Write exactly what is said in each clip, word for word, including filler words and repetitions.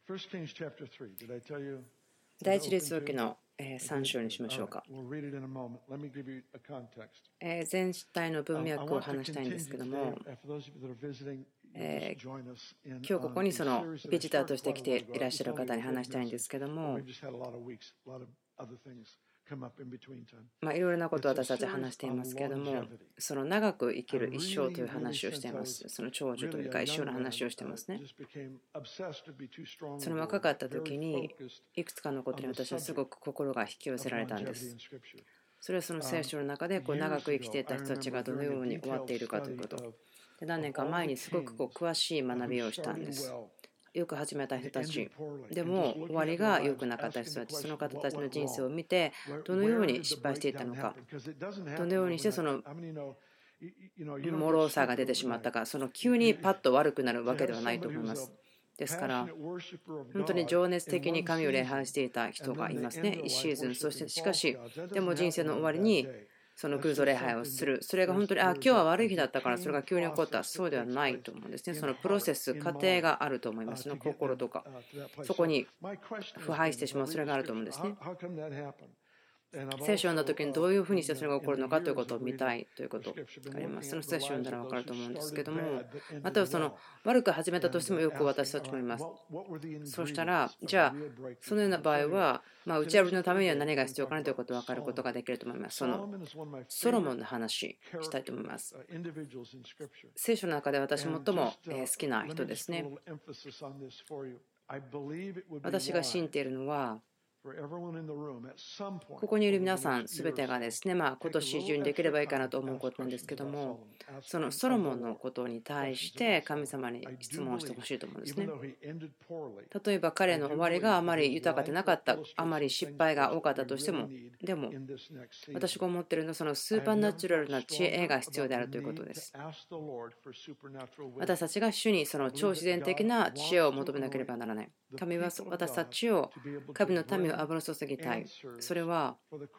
第一列王記のさん章にしましょうか。全体の文脈を話したいんですけども、えー、今日ここにそのビジターとして来ていらっしゃる方に話したいんですけども、まあ、いろいろなことを私たち話していますけれども、その長く生きる一生という話をしています。その長寿というか一生の話をしていますね。その若かった時にいくつかのことに私はすごく心が引き寄せられたんです。それはその聖書の中でこう長く生きていた人たちがどのように終わっているかということ。で、何年か前にすごくこう詳しい学びをしたんです。よく始めた人たちでも終わりが良くなかった人たち、その方たちの人生を見てどのように失敗していったのか、どのようにしてその脆さが出てしまったか、その急にパッと悪くなるわけではないと思います。ですから本当に情熱的に神を礼拝していた人がいますね、いちシーズン。そしてしかしでも人生の終わりにその偶像礼拝をする、それが本当にあ今日は悪い日だったからそれが急に起こった、そうではないと思うんですね。そのプロセス、過程があると思います。その心とかそこに腐敗してしまう、それがあると思うんですね。聖書を読んだ時にどういうふうにしてそれが起こるのかということを見たいということがあります。その聖書を読んだら分かると思うんですけども、またはその悪く始めたとしてもよく私たちもいます。そうしたらじゃあそのような場合は、まあ、打ち破りのためには何が必要かなということを分かることができると思います。そのソロモンの話したいと思います。聖書の中で私最も好きな人ですね。私が信じているのはここにいる皆さんすべてがですね、まあ、今年中にできればいいかなと思うことなんですけども、そのソロモンのことに対して神様に質問してほしいと思うんですね。例えば彼の終わりがあまり豊かでなかった、あまり失敗が多かったとしても、でも私が思っているのはそのスーパーナチュラルな知恵が必要であるということです。私たちが主にその超自然的な知恵を求めなければならない。神は私たちを神の民を油注ぎたい。それは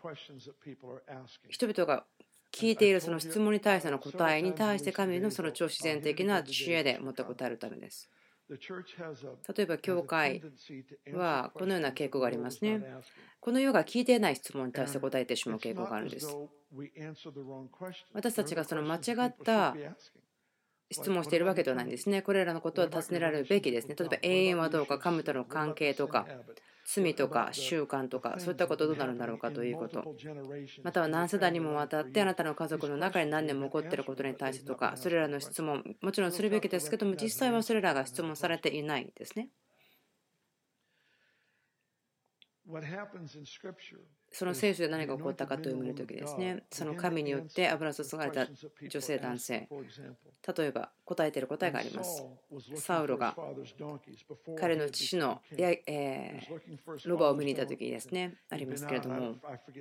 人々が聞いているその質問に対しての答えに対して神のその超自然的な知恵でもって答えるためです。例えば教会はこのような傾向がありますね。この世が聞いていない質問に対して答えてしまう傾向があるんです。私たちがその間違った質問しているわけではないんですね。これらのことは尋ねられるべきですね。例えば永遠はどうか、神との関係とか、罪とか習慣とか、そういったことどうなるんだろうかということ。または何世代にもわたってあなたの家族の中に何年も起こっていることに対してとか、それらの質問、もちろんするべきですけども、実際はそれらが質問されていないですね。その聖書で何が起こったかという見るときですね、その神によって油注がれた女性、男性、例えば答えている答えがあります。サウロが彼の父のや、えー、ロバを見に行ったときですね、ありますけれども、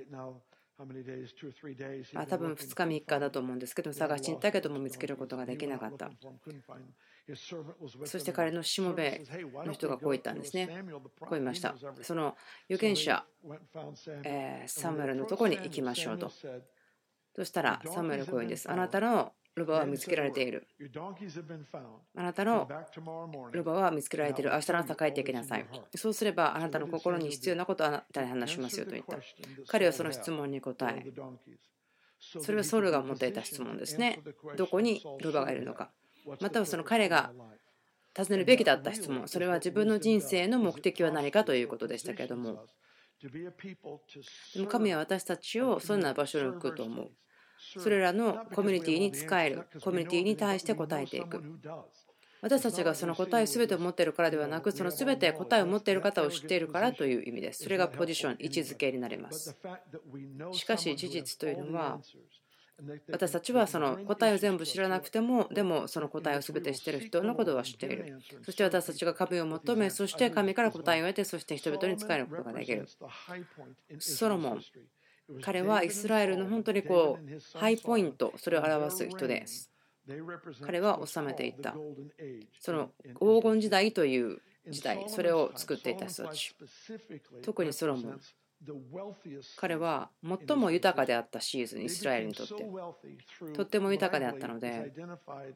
まあ、多分ふつかみっかだと思うんですけども、探しに行ったけども見つけることができなかった。そして彼のしもべの人がこう言ったんですね。こう言いました。その預言者、えー、サムエルのところに行きましょうと。そしたらサムエルこう言うんです。あなたのロバは見つけられている。あなたのロバは見つけられている。明日の朝帰ってきなさい。そうすればあなたの心に必要なことをあなたに話しますよと言った。彼はその質問に答え、それはソウルが持っていた質問ですね。どこにロバがいるのか。またはその彼が尋ねるべきだった質問、それは自分の人生の目的は何かということでしたけれども、でも神は私たちをそんな場所に置くと思う。それらのコミュニティに仕える、コミュニティに対して答えていく。私たちがその答え全てを持っているからではなく、その全て答えを持っている方を知っているからという意味です。それがポジション、位置づけになります。しかし事実というのは、私たちはその答えを全部知らなくても、でもその答えを全て知っている人のことは知っている。そして私たちが神を求め、そして神から答えを得て、そして人々に仕えることができる。ソロモン、彼はイスラエルの本当にこうハイポイント、それを表す人です。彼は治めていった。その黄金時代という時代、それを作っていた人たち。特にソロモン。彼は最も豊かであったシーズン、イスラエルにとってとっても豊かであったので、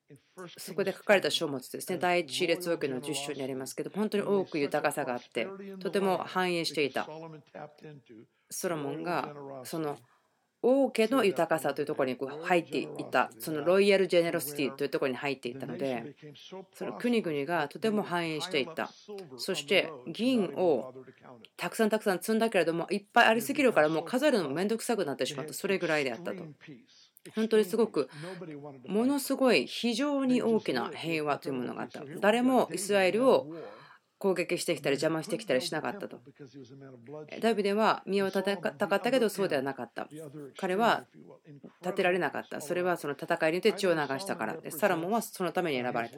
そこで書かれた書物ですね、第一列王記のじゅっ章にありますけど、本当に多く豊かさがあって、とても繁栄していた。ソロモンがその王家の豊かさというところに入っていた、そのロイヤル・ジェネロシティというところに入っていったので、その国々がとても繁栄していった。そして銀をたくさんたくさん積んだけれども、いっぱいありすぎるからもう数えるのも面倒くさくなってしまった、それぐらいであったと。本当にすごくものすごい非常に大きな平和というものがあった。誰もイスラエルを攻撃してきたり邪魔してきたりしなかったと。ダビデは身を立てたかったけどそうではなかった。彼は立てられなかった。それはその戦いによって血を流したからで、サロモンはそのために選ばれた。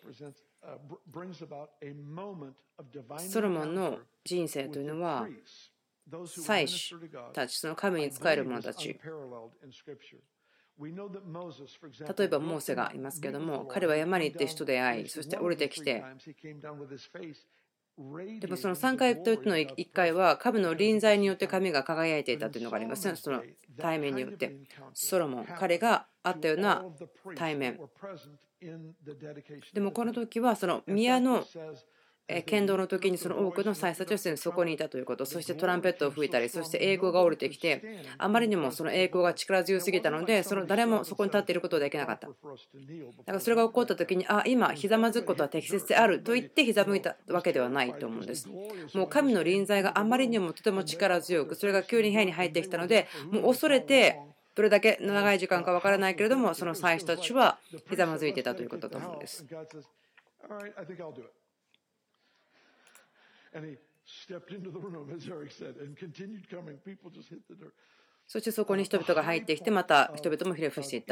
ソロモンの人生というのは祭司たち、その神に仕える者たち、例えばモーセがいますけれども、彼は山に行って人で会い、そして降りてきて、でもそのさんかいとのいっかいは神の臨在によって神が輝いていたというのがありますね。その対面によって。ソロモン、彼があったような対面。でもこの時はその宮の剣道の時にその多くの祭司たちはすでにそこにいたということ、そしてトランペットを吹いたり、そして栄光が降りてきて、あまりにもその栄光が力強すぎたので、その誰もそこに立っていることはできなかった。だからそれが起こった時に、あ、今、ひざまずくことは適切であると言ってひざむいたわけではないと思うんです。もう神の臨在があまりにもとても力強く、それが急に部屋に入ってきたので、もう恐れて、どれだけ長い時間か分からないけれども、その祭司たちはひざまずいていたということだと思うんです。そしてそこに人々が入ってきて、また人々もひれ伏していった。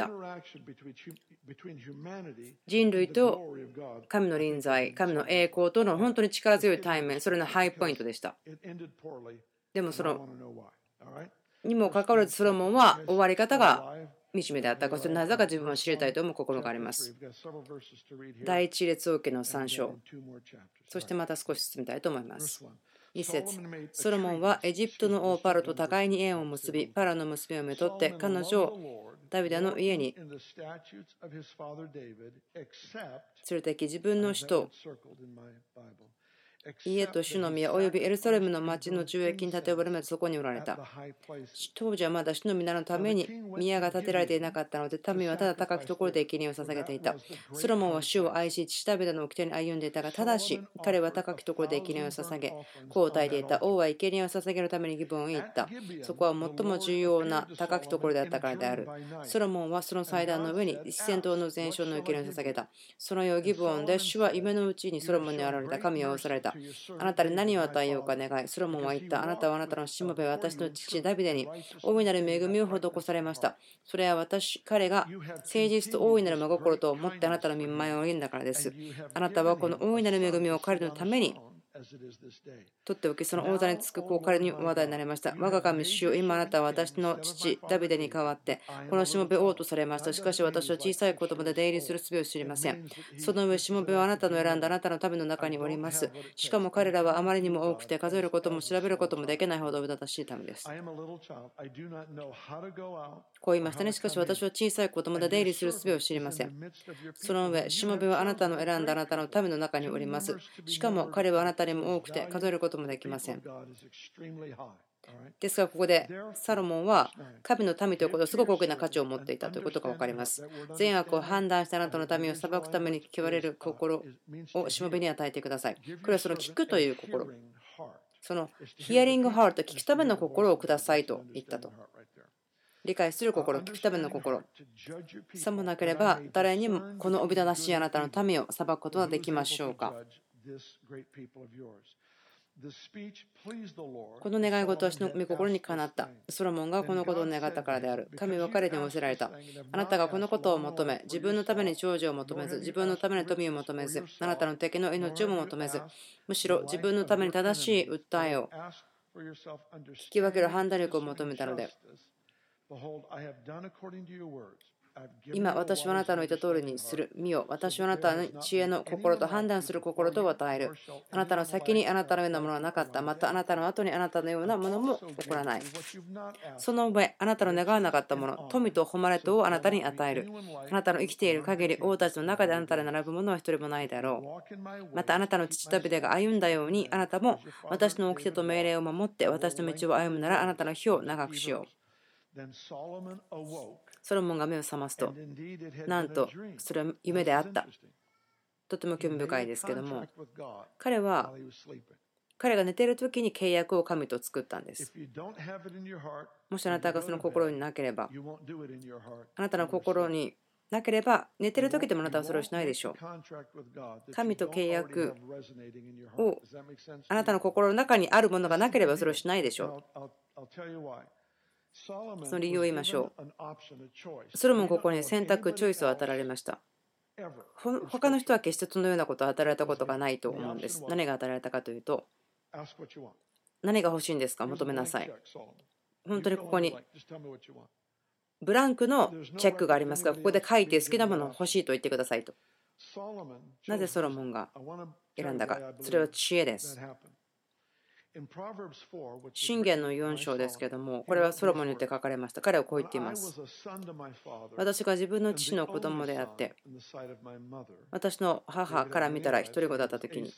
人類と神の臨在、神の栄光との本当に力強い対面、それのハイポイントでした。でもそのにもかかわらずソロモンは終わり方が惨めであったか、それなぜか自分は知りたいと思う心があります。第一列王記のさん章、そしてまた少し進みたいと思います。一節、ソロモンはエジプトの王パロと互いに縁を結び、パロの娘をめとって彼女をダビデの家に連れてき、自分の首都家と主の宮およびエルサレムの町の中駅に建ておられまでそこにおられた。当時はまだ主の皆のために宮が建てられていなかったので、民はただ高きところで生贄を捧げていた。ソロモンは主を愛し、父ダビデの掟に歩んでいたが、ただし彼は高きところで生贄を捧げ、こう答えていた。王は生贄を捧げるためにギブオンへ行った。そこは最も重要な高きところであったからである。ソロモンはその祭壇の上に一千頭の全焼の生贄を捧げた。その夜ギブオンで主は夢のうちにソロモンに現れた。神は仰せられた。あなたに何を与えようか願い。ソロモンは言った。あなたはあなたのしもべは私の父ダビデに大いなる恵みを施されました。それは私、彼が誠実と大いなる真心と思ってあなたの御前を歩んだからです。あなたはこの大いなる恵みを彼のために取っておき、その王座につくこう彼に話題になりました。我が神主よ、今あなたは私の父ダビデに代わってこのしもべ王とされました。しかし私は小さい子供で出入りする術を知りません。その上しもべはあなたの選んだあなたの民の中におります。しかも彼らはあまりにも多くて数えることも調べることもできないほどうだたしい民です。こう言いましたね。しかし私は小さい子供で出入りする術を知りません。その上しもべはあなたの選んだあなたの民の中におります。しかも彼はあなたにも多くて数えることもできません。ですがここでサロモンは神の民ということをすごく大きな価値を持っていたということが分かります。善悪を判断してあなたの民を裁くために聞きわれる心をしもべに与えてください。これはその聞くという心、そのヒアリングハート、聞くための心をくださいと言ったと。理解する心、聞くための心。さもなければ誰にもこのおびただしいあなたの民を裁くことはできましょうか。この願い事は私の御心にかなった。ソロモンがこのことを願ったからである。神は彼に仰せられた。あなたがこのことを求め、自分のために長寿を求めず、自分のために富を求めず、あなたの敵の命をも求めず、むしろ自分のために正しい訴えを聞き分ける判断力を求めたので、 今私はあなたの言った通りにする。見よ、私はあなたに知恵の心と判断する心と与える。あなたの先にあなたのようなものはなかった。またあなたの後にあなたのようなものも起こらない。その上、あなたの願わなかったもの、富と誉れとをあなたに与える。あなたの生きている限り、王たちの中であなたで並ぶものは一人もないだろう。またあなたの父ダビデが歩んだように、あなたも私の掟と命令を守って私の道を歩むなら、あなたの日を長くしよう。ソロモンが目を覚ますと、なんとそれは夢であった。とても興味深いですけども、彼は彼が寝ている時に契約を神と作ったんです。もしあなたがその心になければ、あなたの心になければ、寝ている時でもあなたはそれをしないでしょう。神と契約をあなたの心の中にあるものがなければそれをしないでしょう。その理由を言いましょう。ソロモンここに選択、チョイスを与えられました。他の人は決してそのようなことを与えられたことがないと思うんです。何が与えられたかというと、何が欲しいんですか、求めなさい。本当にここにブランクのチェックがありますが、ここで書いて好きなものを欲しいと言ってくださいと。なぜソロモンが選んだか、それは知恵です。箴言のよん章ですけれども、これはソロモンによって書かれました。彼はこう言っています。私が自分の父の子供であって、私の母から見たら独り子だったときに、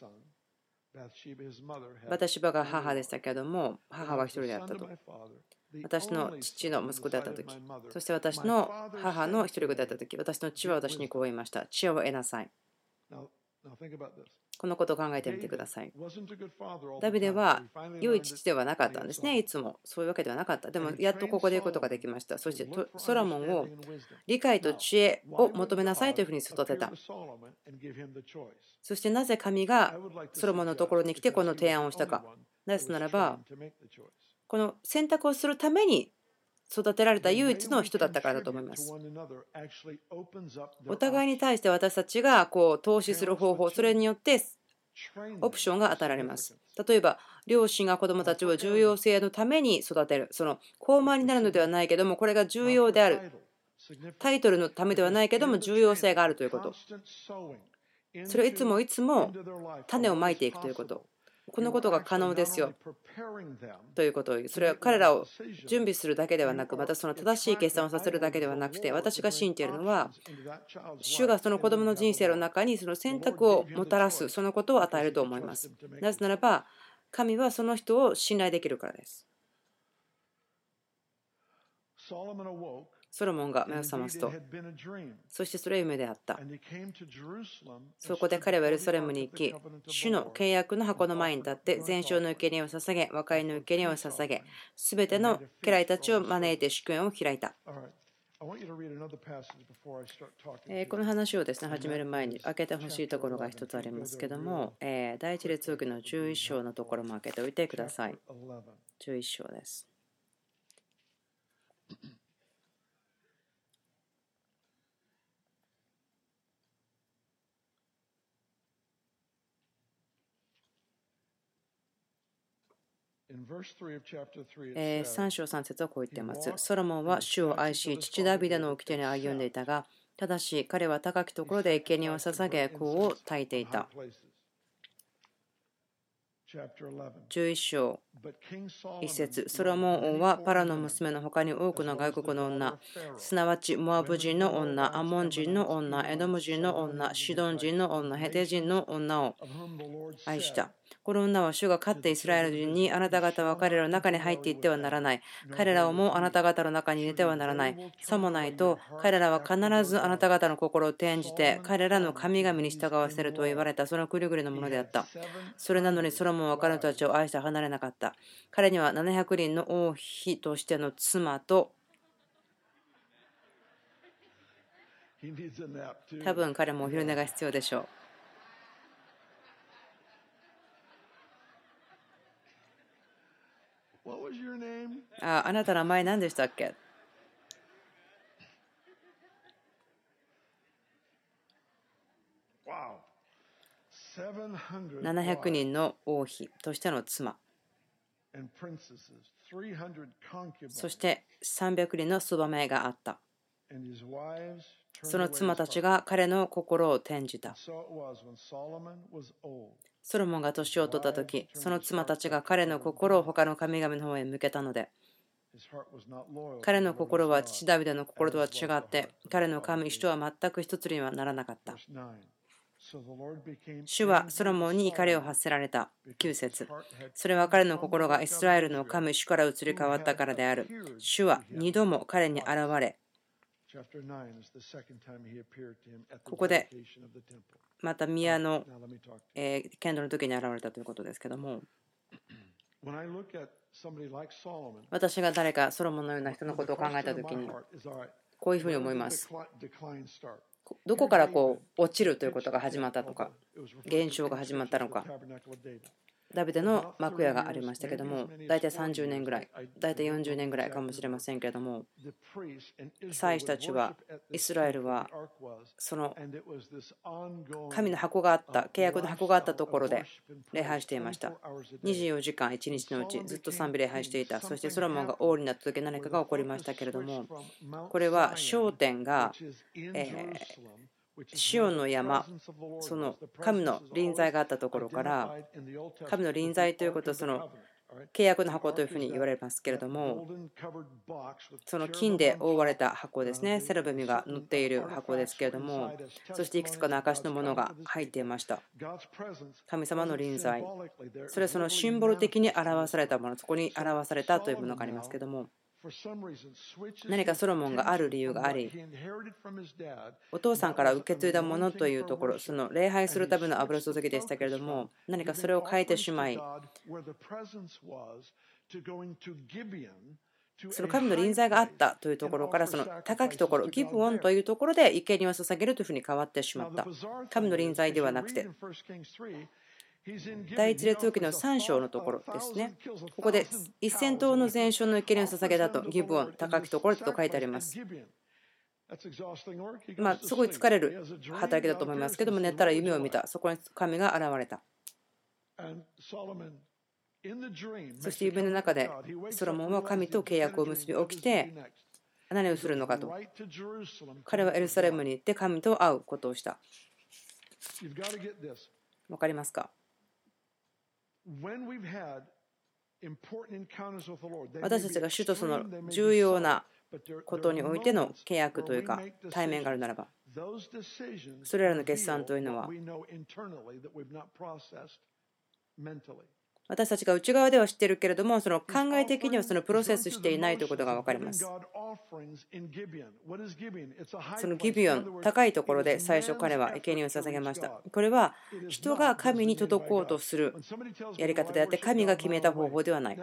バタシバが母でしたけれども、母は一人であったと。私の父の息子であったとき、そして私の母の一人子であったとき、私の父は私にこう言いました。知恵を得なさい。このことを考えてみてください。ダビデは良い父ではなかったんですね。いつもそういうわけではなかった。でもやっとここで言うことができました。そしてソロモンを理解と知恵を求めなさいというふうに育てた。そしてなぜ神がソロモンのところに来てこの提案をしたか。なぜならば、この選択をするために育てられた唯一の人だったからだと思います。お互いに対して私たちがこう投資する方法、それによってオプションが与えられます。例えば、両親が子どもたちを重要性のために育てる。その高慢になるのではないけども、これが重要である。タイトルのためではないけども、重要性があるということ。それをいつもいつも種をまいていくということ。このことが可能ですよということを言う。それは彼らを準備するだけではなく、またその正しい決断をさせるだけではなくて、私が信じているのは、主がその子供の人生の中にその選択をもたらす、そのことを与えると思います。なぜならば、神はその人を信頼できるからです。ソロモンが目を覚ますと、そしてそれは夢であった。そこで彼はエルサレムに行き、主の契約の箱の前に立って、全焼の生贄を捧げ、和解の生贄を捧げ、すべての家来たちを招いて祝宴を開いた。この話をですね、始める前に開けてほしいところが一つありますけども、第一列王記のじゅういっ章のところも開けておいてください。じゅういっ章です。さん章さん節はこう言っています。ソロモンは主を愛し、父ダビデの掟に歩んでいたが、ただし彼は高きところで生贄を捧げ、香を焚いていた。じゅういっ章いち節、ソロモン王はパラの娘の他に多くの外国の女、すなわちモアブ人の女、アモン人の女、エドム人の女、シドン人の女、ヘテ人の女を愛した。この女は主が勝ってイスラエル人に、あなた方は彼らの中に入っていってはならない。彼らをもあなた方の中に入れてはならない。さもないと、彼らは必ずあなた方の心を転じて、彼らの神々に従わせると言われた、その国々のものであった。それなのにソロモンは彼女たちを愛して離れなかった。彼にはななひゃくにんの王妃としての妻と、多分彼もお昼寝が必要でしょう。あ、あなたの名前何でしたっけ？ななひゃくにんの王妃としての妻、そしてさんびゃくにんのそばめがあった。 その妻たちが彼の心を転じた。ソロモンが年を取った時、その妻たちが彼の心を他の神々の方へ向けたので、彼の心は父ダビデの心とは違って、彼の神主とは全く一つにはならなかった。主はソロモンに怒りを発せられた。きゅう節。それは彼の心がイスラエルの神主から移り変わったからである。主は二度も彼に現れ、ここでまた宮のえー、剣道の時に現れたということですけども、私が誰かソロモンのような人のことを考えた時にこういうふうに思います。どこからこう落ちるということが始まったとか、現象が始まったのか。ダビデの幕屋がありましたけども、大体さんじゅうねんぐらい、大体よんじゅうねんぐらいかもしれませんけれども、祭司たちは、イスラエルはその神の箱があった、契約の箱があったところで礼拝していました。にじゅうよじかんいちにちのうちずっと賛美礼拝していた。そしてソロモンが王になった時何かが起こりましたけれども、これは焦点が、えーシオンの山、その神の臨在があったところから、神の臨在ということはその契約の箱というふうに言われますけれども、その金で覆われた箱ですね、セラビムが乗っている箱ですけれども、そしていくつかの証のものが入っていました。神様の臨在、それはそのシンボル的に表されたもの、そこに表されたというものがありますけれども、何かソロモンがある理由があり、お父さんから受け継いだものというところ、その礼拝するための油注ぎでしたけれども、何かそれを変えてしまい、その神の臨在があったというところから、その高きところ、ギブオンというところで生贄を捧げるというふうに変わってしまった。神の臨在ではなくて、第一列王記のさん章のところですね。ここでせん頭の全焼の生贄を捧げたと、ギブオン、高きところと書いてあります。まあ、すごい疲れる働きだと思いますけども、寝たら夢を見た。そこに神が現れた。そして夢の中でソロモンは神と契約を結び起きて、何をするのかと。彼はエルサレムに行って神と会うことをした。わかりますか？私たちが主とその重要なことにおいての契約というか対面があるならば、それらの決算というのは私たちが内側では知っているけれども、その考え的にはそのプロセスしていないということが分かります。そのギビオン、高いところで最初彼は生贄を捧げました。これは人が神に届こうとするやり方であって、神が決めた方法ではない。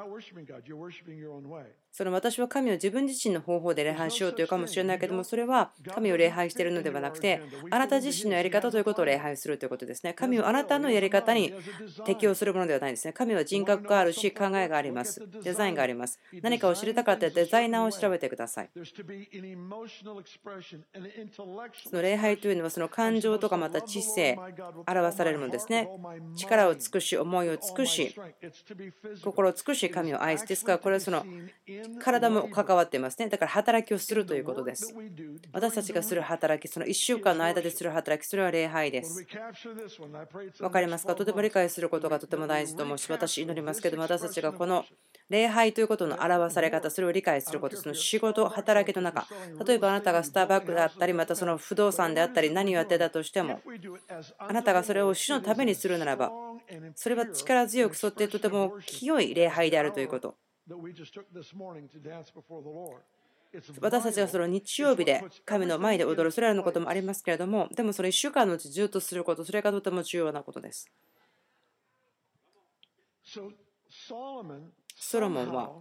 その私は神を自分自身の方法で礼拝しようというかもしれないけども、それは神を礼拝しているのではなくて、あなた自身のやり方ということを礼拝するということですね。神をあなたのやり方に適用するものではないですね。神は人格があるし、考えがあります。デザインがあります。何かを知りたかったらデザイナーを調べてください。その礼拝というのはその感情とかまた知性、表されるものですね。力を尽くし、思いを尽くし、心を尽くし、神を愛す。ですから、これはその体も関わっていますね。だから働きをするということです。私たちがする働き、そのいっしゅうかんの間でする働き、それは礼拝です。わかりますか？とても理解することがとても大事と思うし、私祈りますけども、私たちがこの礼拝ということの表され方、それを理解すること、その仕事、働きの中、例えばあなたがスターバックだったり、またその不動産であったり、何をやってたとしても、あなたがそれを主のためにするならば、それは力強く沿ってとても清い礼拝であるということ。私たちがその日曜日で神の前で踊る、それらのこともありますけれども、でもそれいっしゅうかんのうちずっとすること、それがとても重要なことです。ソロモンは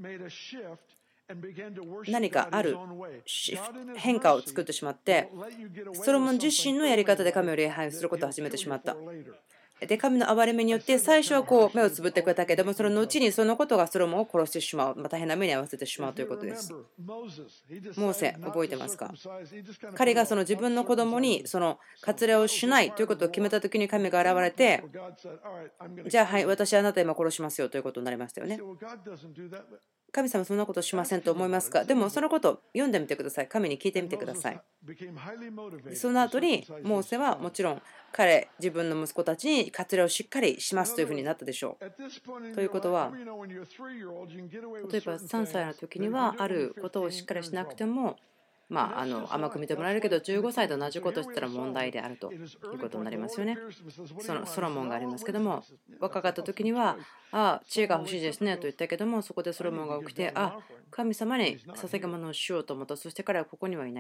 何かある変化を作ってしまって、ソロモン自身のやり方で神を礼拝することを始めてしまった。で、神の憐れみによって最初はこう目をつぶってくれたけども、その後にそのことがソロモンを殺してしまう、大変な目に遭わせてしまうということです。モーセ、覚えてますか？彼がその自分の子供にその割礼をしないということを決めたときに神が現れて、じゃあはい、私はあなた今殺しますよということになりましたよね。 神様そんなことしませんと思いますか？でもそのことを読んでみてください。神に聞いてみてください。その後にモーセはもちろん彼自分の息子たちに割礼をしっかりしますというふうになったでしょう。ということは、例えばさんさいの時にはあることをしっかりしなくてもまあ、あの甘く見てもらえるけどじゅうごさいと同じことをしたら問題であるということになりますよね。そのソロモンがありますけども、若かった時にはああ知恵が欲しいですねと言ったけども、そこでソロモンが起きてあ神様に捧げ物をしようと思った。そして彼はここにはいない。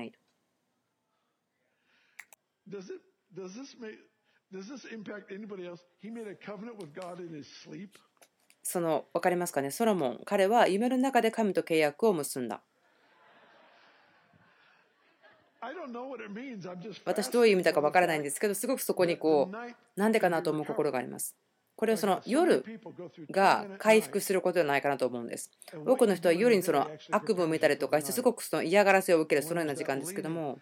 その分かりますかね。ソロモン彼は夢の中で神と契約を結んだ。私どういう意味だかわからないんですけど、すごくそこにこうなんでかなと思う心があります。これはその夜が回復することではないかなと思うんです。多くの人は夜にその悪夢を見たりとかしてすごくその嫌がらせを受けるそのような時間ですけども、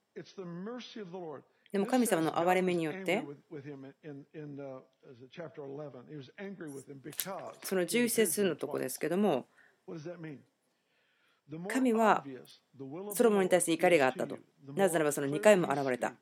でも神様の憐れみによってそのじゅういち節のところですけども、神はソロモンに対して怒りがあったと。なぜならばそのにかいも現れた。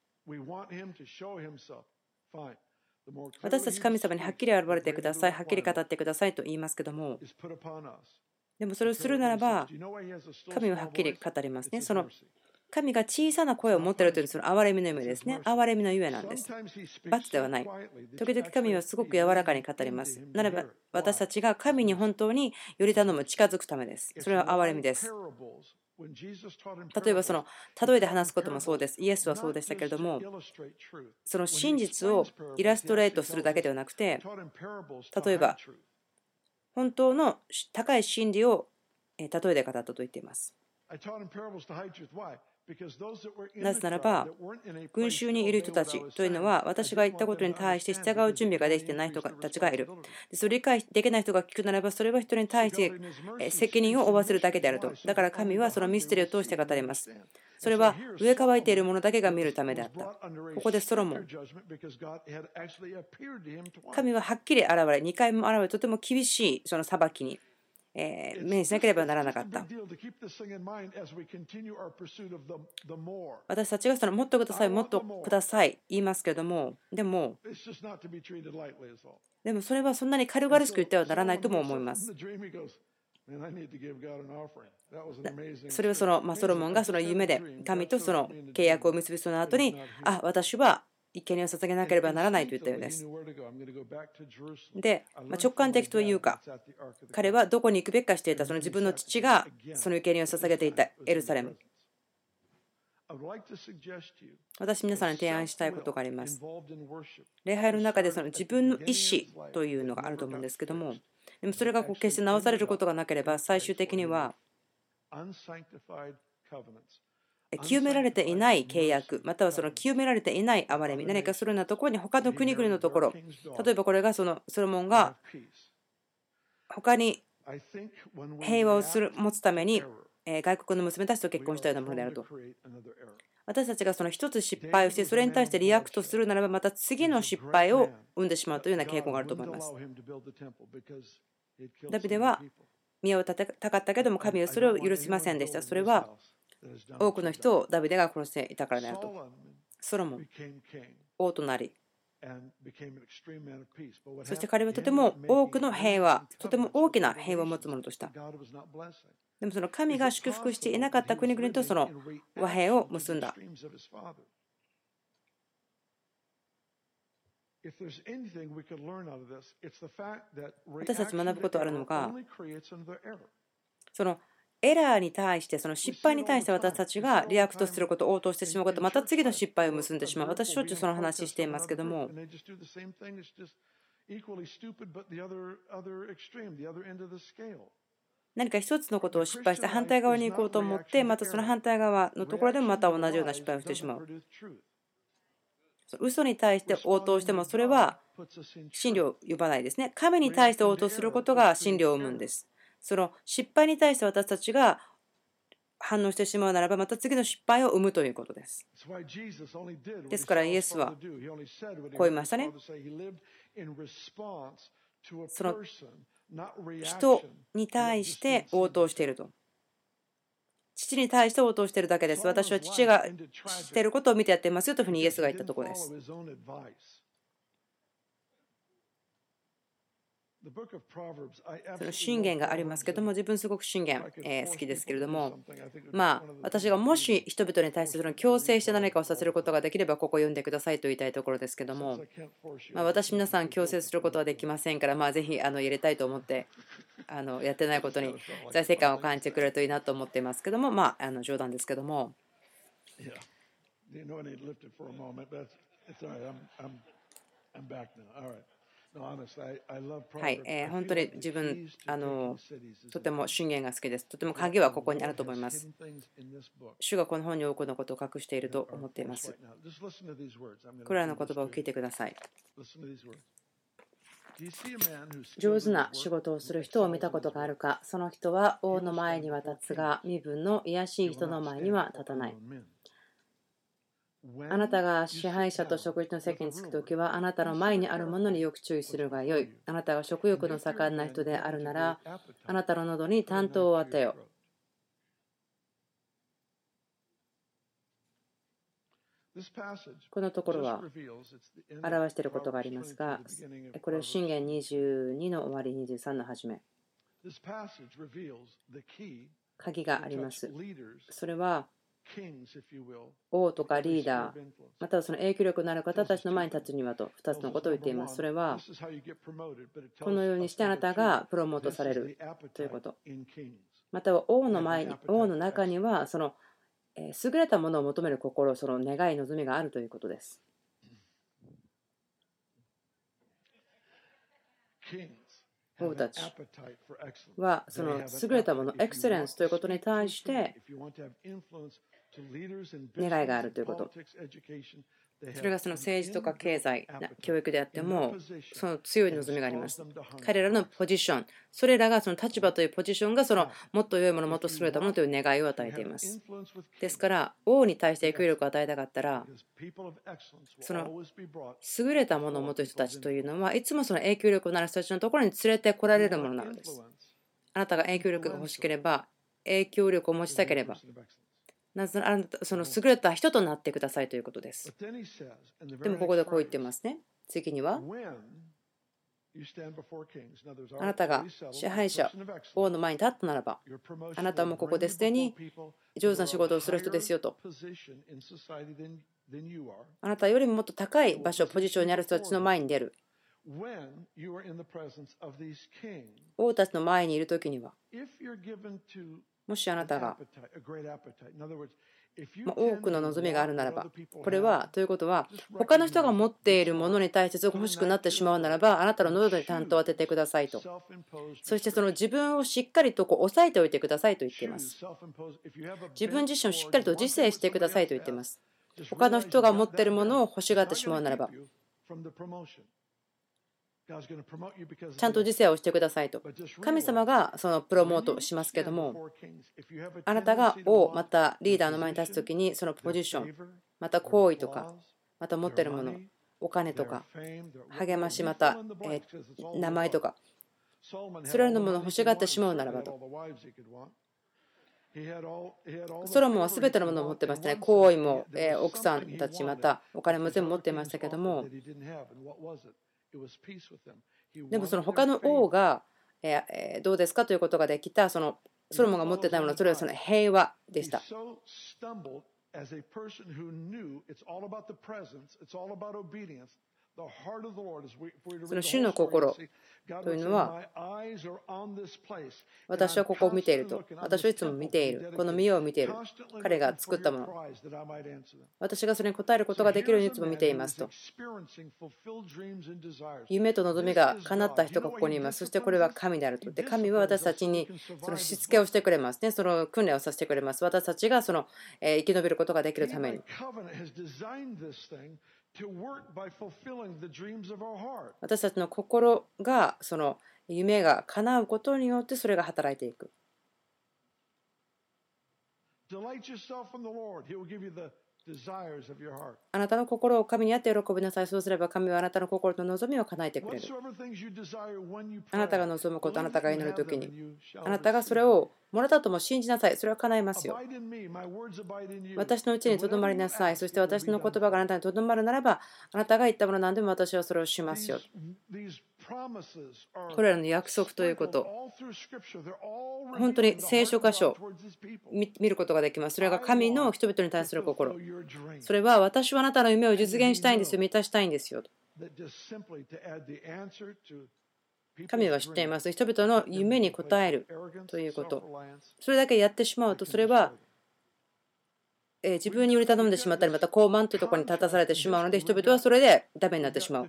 私たち神様にはっきり現れてください、はっきり語ってくださいと言いますけども、でもそれをするならば神ははっきり語りますね。その神が小さな声を持っているというその憐れみのゆえですね。憐れみのゆえなんです。罰ではない。時々神はすごく柔らかに語ります。ならば私たちが神に本当により頼む、近づくためです。それは憐れみです。例えばその例えで話すこともそうです。イエスはそうでしたけれども、その真実をイラストレートするだけではなくて、例えば本当の高い真理を例えで語ったと言っています。なぜならば群衆にいる人たちというのは私が言ったことに対して従う準備ができていない人たちがいる。それを理解できない人が聞くならばそれは人に対して責任を負わせるだけであると。だから神はそのミステリーを通して語ります。それは上乾いているものだけが見るためであった。ここでソロモン、神ははっきり現れにかいも現れとても厳しいその裁きにえー、目にしなければならなかった。私たちがそのもっとください、もっとください言いますけれども、でも、でもそれはそんなに軽々しく言ってはならないとも思います。それはその、まあ、ソロモンがその夢で神とその契約を結びその後に、あ、私は生贄を捧げなければならないと言ったようです。で、まあ、直感的というか、彼はどこに行くべきかしていた、その自分の父がその生贄を捧げていたエルサレム。私、皆さんに提案したいことがあります。礼拝の中でその自分の意思というのがあると思うんですけども、でもそれがこう決して直されることがなければ、最終的には清められていない契約、またはその清められていない憐れみ、何かそのようなところに他の国々のところ、例えばこれがそのソロモンが他に平和をする持つために外国の娘たちと結婚したようなものであると。私たちがその一つ失敗をしてそれに対してリアクトするならばまた次の失敗を生んでしまうというような傾向があると思います。ダビデは宮を建てたかったけども神はそれを許しませんでした。それは多くの人をダビデが殺していたからであると。ソロモン、王となり、そして彼はとても多くの平和、とても大きな平和を持つものとした。でもその神が祝福していなかった国々とその和平を結んだ。私たち学ぶことあるのが、そのエラーに対して、その失敗に対して私たちがリアクトすること、応答してしまうこと、また次の失敗を結んでしまう。私、しょっちゅうその話していますけども、何か一つのことを失敗して反対側に行こうと思って、またその反対側のところでもまた同じような失敗をしてしまう。嘘に対して応答しても、それは真理を呼ばないですね。神に対して応答することが真理を生むんです。その失敗に対して私たちが反応してしまうならば、また次の失敗を生むということです。ですからイエスはこう言いましたね。 その人に対して応答していると。父に対して応答しているだけです。私は父がしていることを見てやっていますよというふうにイエスが言ったところです。その箴言がありますけども、自分すごく箴言、えー、好きですけれども、まあ私がもし人々に対してその強制して何かをさせることができればここを読んでくださいと言いたいところですけども、まあ、私皆さん強制することはできませんから、まあ、ぜひあの入れたいと思ってあのやってないことに財政感を感じてくれるといいなと思っていますけども、まああの冗談ですけども。はい、えー、本当に自分あのとても箴言が好きです。とても鍵はここにあると思います。主がこの本に多くのことを隠していると思っています。これらの言葉を聞いてください。上手な仕事をする人を見たことがあるか。その人は王の前には立つが、身分の卑しい人の前には立たない。あなたが支配者と食事の席に着くときは、あなたの前にあるものによく注意するがよい。あなたが食欲の盛んな人であるなら、あなたの喉に担当を当てよ。このところは表していることがありますが、これは箴言にじゅうにの終わり、にじゅうさんの始め。鍵があります。それは王とかリーダー、またはその影響力のある方たちの前に立つにはとふたつのことを言っています。それはこのようにしてあなたがプロモートされるということ。または王の前に、王の中にはその優れたものを求める心、その願い、望みがあるということです。王たちはその優れたもの、エクセレンスということに対して願いがあるということ。それがその政治とか経済、教育であっても、その強い望みがあります。彼らのポジション、それらがその立場というポジションがそのもっと良いもの、もっと優れたものという願いを与えています。ですから、王に対して影響力を与えたかったら、その優れたものを持つ人たちというのは、いつもその影響力のある人たちのところに連れてこられるものなのです。あなたが影響力が欲しければ、影響力を持ちたければ、なぜならあなたその優れた人となってくださいということです。でもここでこう言ってますね。次には、あなたが支配者、王の前に立ったならば、あなたはもうここですでに上手な仕事をする人ですよと。あなたよりももっと高い場所、ポジションにある人たちの前に出る。王たちの前にいるときには、もしあなたが多くの望みがあるならば、これはということは、他の人が持っているものに対してすごく欲しくなってしまうならば、あなたの喉に担当を当ててくださいと。そしてその自分をしっかりとこう抑えておいてくださいと言っています。自分自身をしっかりと自制してくださいと言っています。他の人が持っているものを欲しがってしまうならば、ちゃんと自制をしてくださいと。神様がそのプロモートしますけども、あなたが王またリーダーの前に立つときに、そのポジション、また行為とか、また持っているもの、お金とか、励まし、また、えー、名前とか、それらのものを欲しがってしまうならばと。ソロモンは全てのものを持ってましたね。行為も、えー、奥さんたち、またお金も全部持っていましたけども、でもその他の王が、えー、どうですかということができた、そのソロモンが持っていたもの、それはその平和でした。その主の心というのは、私はここを見ていると。私はいつも見ている。この見ようを見ている。彼が作ったもの。私がそれに応えることができるようにいつも見ていますと。夢と望みが叶った人がここにいます。そしてこれは神であると。で、神は私たちにそのしつけをしてくれますね。その訓練をさせてくれます。私たちがその生き延びることができるために。私たちの心がその夢が叶うことによってそれが働いていく。 あなたの心を神にあって喜びなさい。そうすれば神はあなたの心の望みを叶えてくれる。あなたが望むこと、あなたが祈るときに、あなたがそれをもらったとも信じなさい。それは叶えますよ。私のうちにとどまりなさい。そして私の言葉があなたにとどまるならば、あなたが言ったもの何でも私はそれをしますよ。これらの約束ということ、本当に聖書箇所見ることができます。それが神の人々に対する心。それは私はあなたの夢を実現したいんですよ、満たしたいんですよ。神は知っています。人々の夢に応えるということ。それだけやってしまうと、それは自分により頼んでしまったり、また傲慢というところに立たされてしまうので、人々はそれでダメになってしまう。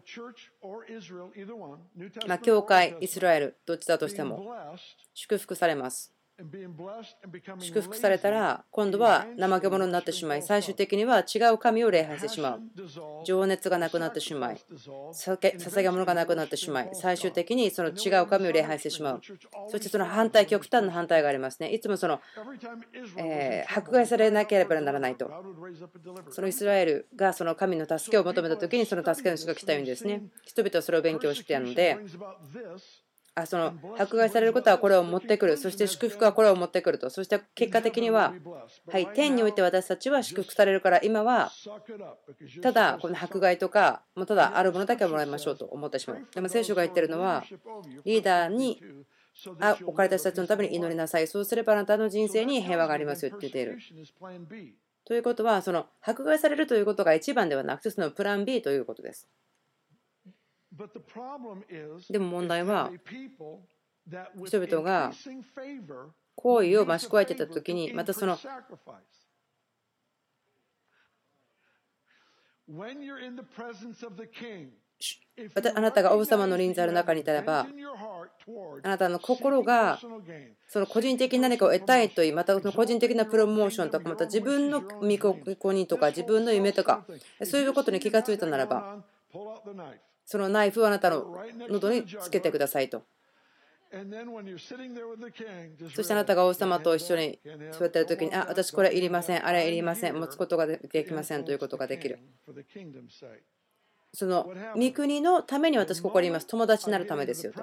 まあ、教会、イスラエル、どっちだとしても祝福されます。祝福されたら、今度は怠け者になってしまい、最終的には違う神を礼拝してしまう。情熱がなくなってしまい、捧げ物がなくなってしまい、最終的にその違う神を礼拝してしまう。そしてその反対、極端な反対がありますね。いつもその、えー、迫害されなければならないと。そのイスラエルがその神の助けを求めたときに、その助けの人が来たようにですね、人々はそれを勉強しているので、あその迫害されることはこれを持ってくる、そして祝福はこれを持ってくると、そして結果的には、はい、天において私たちは祝福されるから、今はただこの迫害とか、もうただあるものだけをもらいましょうと思ってしまう。でも聖書が言ってるのは、リーダーに置かれた人たちのために祈りなさい、そうすればあなたの人生に平和がありますよって言っている。ということは、その迫害されるということが一番ではなくて、そのプラン ビー ということです。でも問題は、人々が行為を増し加えていたときに、またそのあなたが王様の臨在の中にいたらば、あなたの心がその個人的に何かを得たいといい、またその個人的なプロモーションとか、また自分の見込みとか、自分の夢とか、そういうことに気がついたならば、そのナイフをあなたの喉につけてくださいと。そしてあなたが王様と一緒に座っているときに、あ、私これいりません、あれいりません、持つことができませんということができる。その御国のために私ここにいます。友達になるためですよと。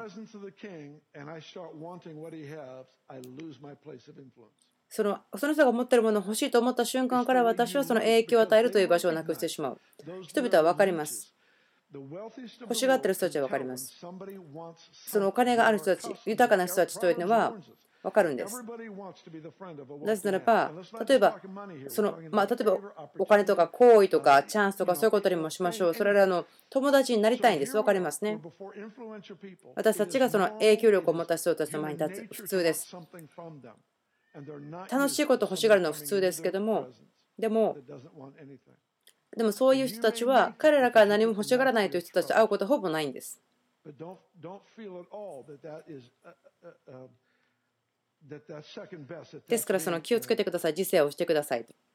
そのその人が持っているものを欲しいと思った瞬間から私はその影響を与えるという場所をなくしてしまう。人々は分かります。欲しがっている人たちは分かります。そのお金がある人たち、豊かな人たちというのは分かるんです。なぜならば、例えば、そのまあ、例えばお金とか行為とかチャンスとかそういうことにもしましょう。それらの友達になりたいんです。分かりますね。私たちがその影響力を持った人たちの前に立つ、普通です。楽しいことを欲しがるのは普通ですけども、でも、でもそういう人たちは彼らから何も欲しがらないという人たちと会うことはほぼないんです。ですからその気をつけてください。自制をしてくださいと。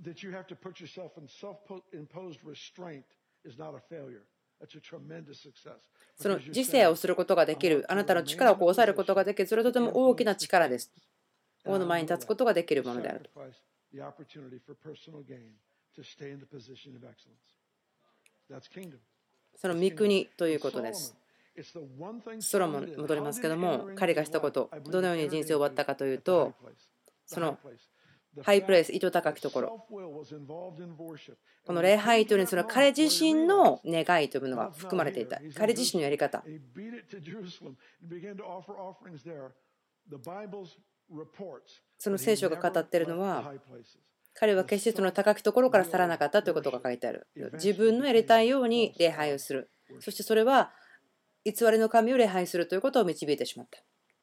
その自制をすることができる、あなたの力をこう抑えることができる、それはとても大きな力です。王の前に立つことができるものであると。その御国ということです。ソロモンに戻りますけども、彼がしたこと、どのように人生を終わったかというと、そのハイプレイス、糸高きところ、この礼拝というのにその彼自身の願いというものが含まれていた。彼自身のやり方。その聖書が語っているのは、彼は決してその高きところから去らなかったということが書いてある。自分のやりたいように礼拝をする。そしてそれは偽りの神を礼拝するということを導いてしまった。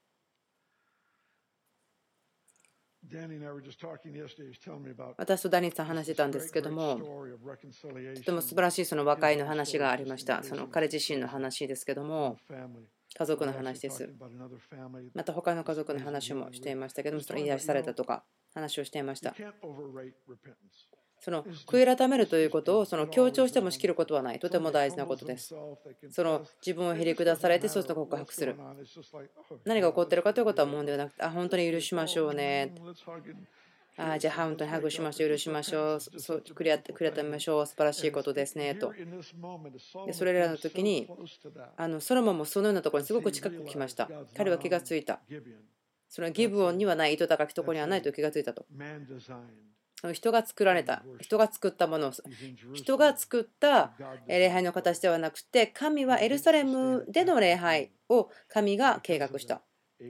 私とダニーさん話してたんですけども、とても素晴らしいその和解の話がありました。その彼自身の話ですけども、家族の話です。また他の家族の話もしていましたけども、その癒しされたとか話をしていました。その悔い改めるということをその強調してもしきることはない。とても大事なことです。その自分をへり下されて、そうすると告白する。何が起こっているかということは問題ではなくて、あ、本当に許しましょうね。 ああ、じゃあ本当にハグしましょう、許しましょう、そう悔や悔やみましょう、素晴らしいことですねと。でそれらの時にあのソロモンもそのようなところにすごく近く来ました。彼は気がついた。それはギブオンにはない糸高きところにはないと気がついたと。人が作られた、人が作ったもの、人が作った礼拝の形ではなくて、神はエルサレムでの礼拝を神が計画した。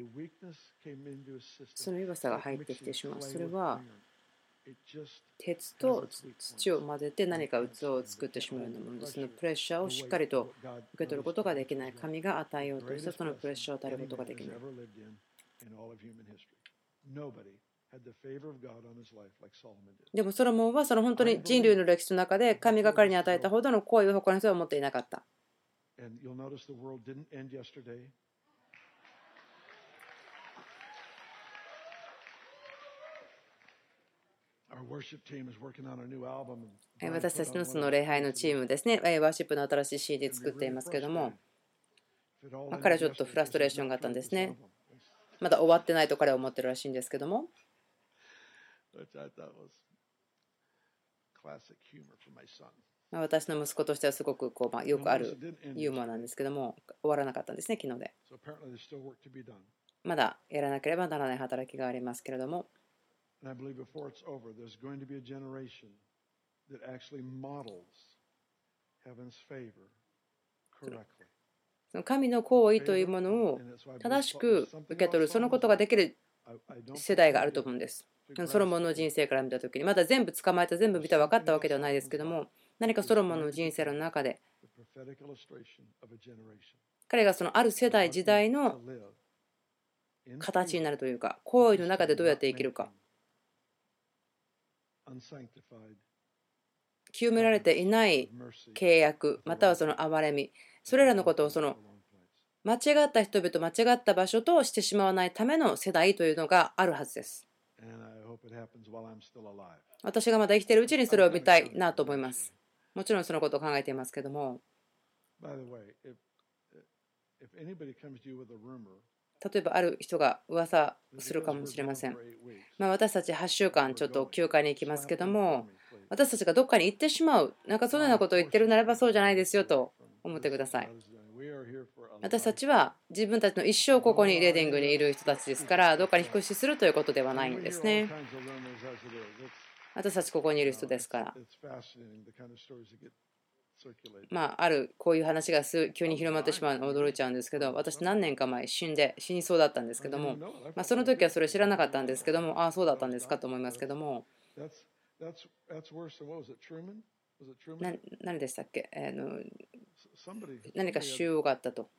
その弱さが入ってきてしまう。それは鉄と土を混ぜて何か器を作ってしまうようなものです。そのプレッシャーをしっかりと受け取ることができない。神が与えようとしたそのプレッシャーを与えることができない。でもソロモンはその本当に人類の歴史の中で神が彼に与えたほどの行為を他の人は持っていなかった。私たちのその礼拝のチームですね、ワーシップの新しい シーディー 作っていますけれども、まあ、彼はちょっとフラストレーションがあったんですね。まだ終わってないと彼は思ってるらしいんですけども。私の息子としてはすごくこう、まあ、よくあるユーモアなんですけども、終わらなかったんですね、昨日で。まだやらなければならない働きがありますけれども。神の行為というものを正しく受け取る、そのことができる世代があると思うんです。ソロモンの人生から見たときに、まだ全部捕まえた、全部見た、分かったわけではないですけども、何かソロモンの人生の中で、彼がそのある世代、時代の形になるというか、行為の中でどうやって生きるか。清められていない契約、またはその憐れみ、それらのことをその間違った人々、間違った場所としてしまわないための世代というのがあるはずです。私がまだ生きているうちにそれを見たいなと思います。もちろんそのことを考えていますけども。例えばある人が噂するかもしれません。まあ、私たちはちしゅうかんちょっと休暇に行きますけども、私たちがどっかに行ってしまう、なんかそのようなことを言ってるならばそうじゃないですよと思ってください。私たちは自分たちの一生ここにレディングにいる人たちですから、どっかに引っ越しするということではないんですね。私たちここにいる人ですから。まあ、あるこういう話が急に広まってしまうの驚いちゃうんですけど、私何年か前死んで死にそうだったんですけども、まあ、その時はそれ知らなかったんですけども、ああそうだったんですかと思いますけども、な何でしたっけ、あの何か腫瘍があったと。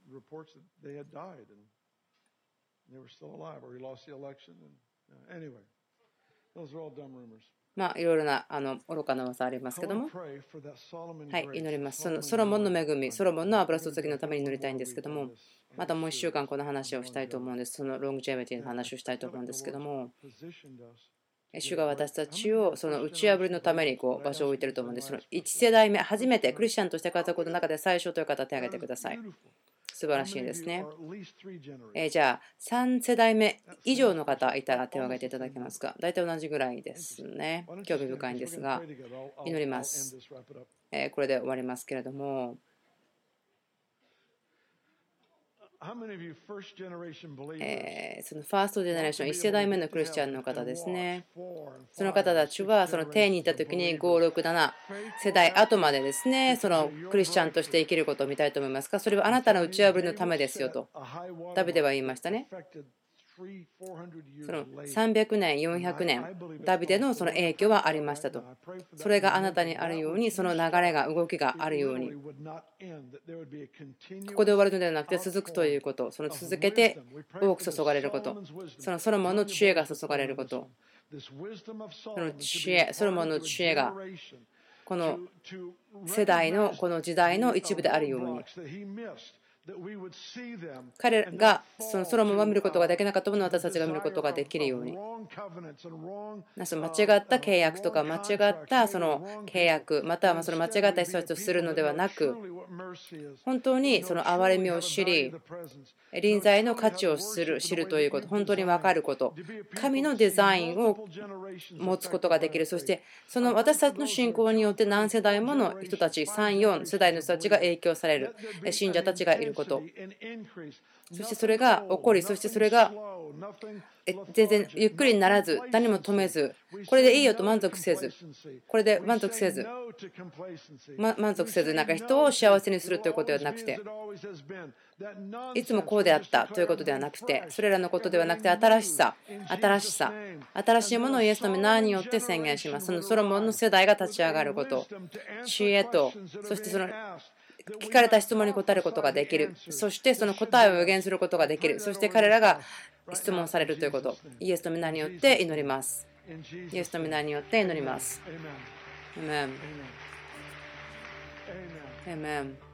まあ、いろいろなあの愚かな噂ありますけども、はい、祈ります。そのソロモンの恵み、ソロモンの油注ぎのために祈りたいんですけども、またもういっしゅうかんこの話をしたいと思うんです。そのロングジェミティの話をしたいと思うんですけども、主が私たちをその打ち破りのためにこう場所を置いていると思うんです。そのいち世代目、初めてクリスチャンとして活躍の中で最初という方、手を挙げてください。素晴らしいですね。えー、じゃあさん世代目以上の方いたら手を挙げていただけますか。大体同じぐらいですね。興味深いんですが、祈ります。えー、これで終わりますけれども、えー、そのファーストジェネレーションいち世代目のクリスチャンの方ですね。その方たちはその天にいた時にご、ろく、なな世代後までですね、そのクリスチャンとして生きることを見たいと思いますが、それはあなたの打ち破りのためですよとダビデは言いましたね。そのさんびゃくねん、よんひゃくねん、ダビデのその影響はありましたと。それがあなたにあるように、その流れが、動きがあるように、ここで終わるのではなくて続くということ、その続けて多く注がれること、そのソロモンの知恵が注がれること、その知恵、ソロモンの知恵が、この世代のこの時代の一部であるように、 彼がそのソロモンは見ることができなかったものを私たちが見ることができるように、その間違った契約とか間違ったその契約、またはその間違った人たちとするのではなく、本当にその憐れみを知り、臨在の価値を知る知るということ、本当に分かること、神のデザインを持つことができる。そしてその私たちの信仰によって何世代もの人たち、さん、よん世代の人たちが影響される、信者たちがいること、そしてそれが起こり、そしてそれが全然ゆっくりにならず、何も止めず、これでいいよと満足せず、これで満足せず、ま、満足せず、なんか人を幸せにするということではなくて、いつもこうであったということではなくて、それらのことではなくて、新しさ、新しさ、新しいものをイエスの名によって宣言します。そのソロモンの世代が立ち上がること、知恵と、そしてその聞かれた質問に答えることができる。そしてその答えを予言することができる。そして彼らが質問されるということ。イエスの皆によって祈ります。イエスの皆によって祈ります。アメン。アメン。